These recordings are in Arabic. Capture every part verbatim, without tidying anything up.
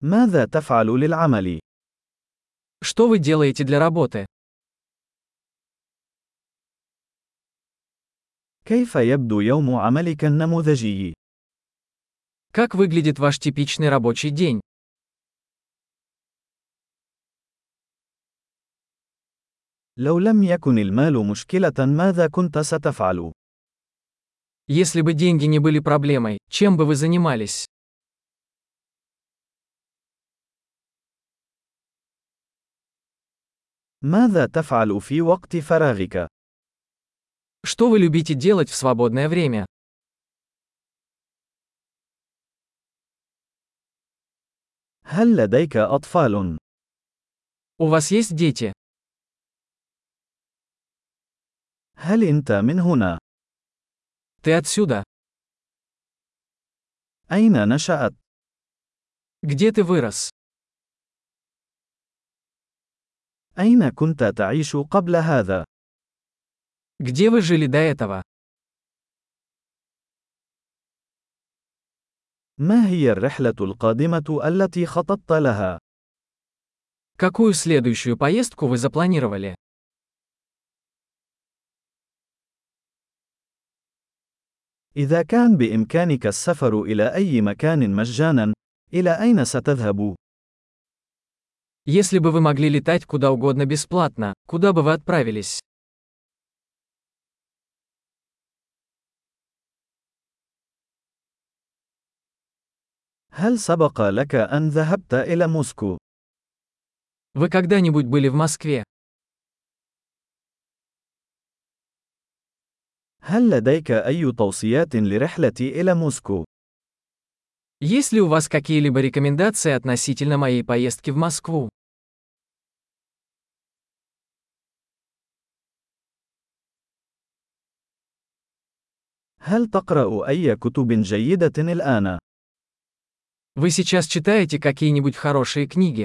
ماذا تفعل للعمل؟ Что вы делаете для работы? كيف يبدو يوم عملك النموذجي؟ Как выглядит ваш типичный рабочий день? لو لم يكن المال مشكلة ماذا كنت ستفعل؟ Если бы деньги не были проблемой, чем бы вы занимались? ماذا تفعل في وقت فراغك؟ Что вы любите делать в свободное время? هل لديك أطفال؟ У вас есть дети? هل أنت من هنا؟ Ты отсюда? أين نشأت؟ Где ты вырос? أين كنت تعيش قبل هذا؟ Где вы жили до этого? ما هي الرحلة القادمة التي خططت لها؟ Какую следующую поездку вы запланировали? إذا كان بإمكانك السفر إلى أي مكان مجانا، إلى أين ستذهب؟ Если бы вы могли летать куда угодно бесплатно, куда бы вы отправились? هل سبق لك أن ذهبت إلى موسكو؟ Вы когда-нибудь были в Москве? هل لديك أي توصيات لرحلتي إلى موسكو؟ Есть ли у вас какие-либо рекомендации относительно моей поездки в Москву? هل تقرأ أي كتب جيدة الآن؟ Вы сейчас читаете какие-нибудь хорошие книги?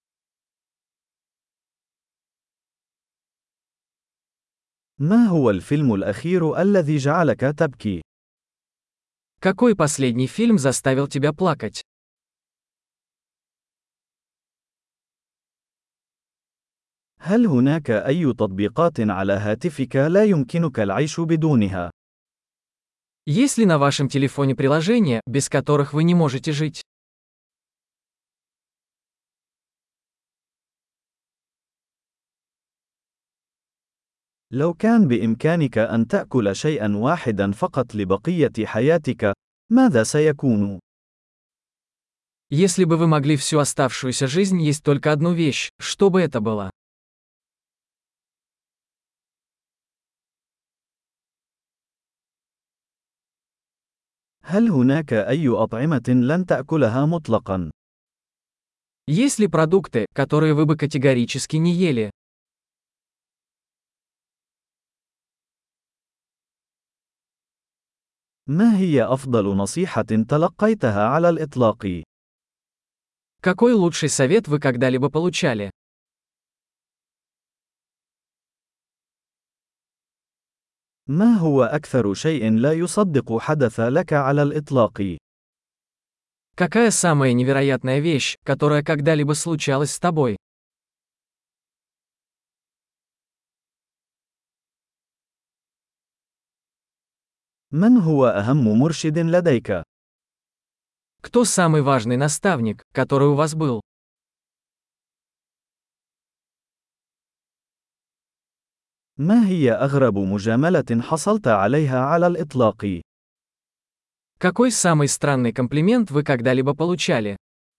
ما هو الفيلم الأخير الذي جعلك تبكي؟ Какой последний фильм заставил тебя плакать? هل هناك أي تطبيقات على هاتفك لا يمكنك العيش بدونها؟ Есть ли на вашем телефоне приложения, без которых вы не можете жить? لو كان بإمكانك أن تأكل شيئا واحدا فقط لبقية حياتك، ماذا سيكون؟ Если бы вы могли всю оставшуюся жизнь есть только одну вещь, что бы это было? هل هناك أي أطعمة لن تأكلها مطلقا؟ Есть ли продукты, которые вы бы категорически не ели? ما هي أفضل نصيحة تلقيتها على الإطلاق؟ Какой лучший совет вы когда-либо получали? ما هو أكثر شيء لا يصدق حدث لك على الإطلاق؟ Какая самая невероятная вещь, которая когда-либо случалась с тобой? من هو أهم مرشد لديك؟ Кто самый важный наставник, который у вас был? ما هي أغرب مجاملة حصلت عليها على الإطلاق؟ Какой самый странный комплимент вы когда-либо получали?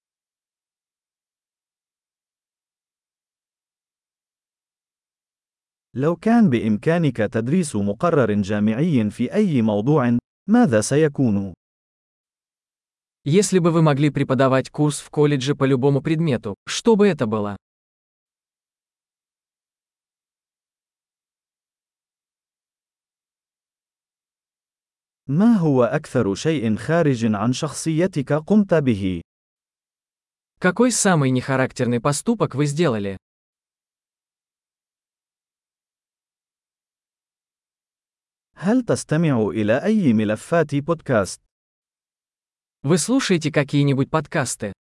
لو كان بإمكانك تدريس مقرر جامعي في أي موضوع، ماذا سيكون؟ Если бы вы могли преподавать курс в колледже по любому предмету, что бы это было? ما هو أكثر شيء خارج عن شخصيتك قمت به؟ Какой самый нехарактерный поступок вы сделали? هل تستمع إلى أي ملفات بودكاست؟ Вы слушаете какие-нибудь подкасты?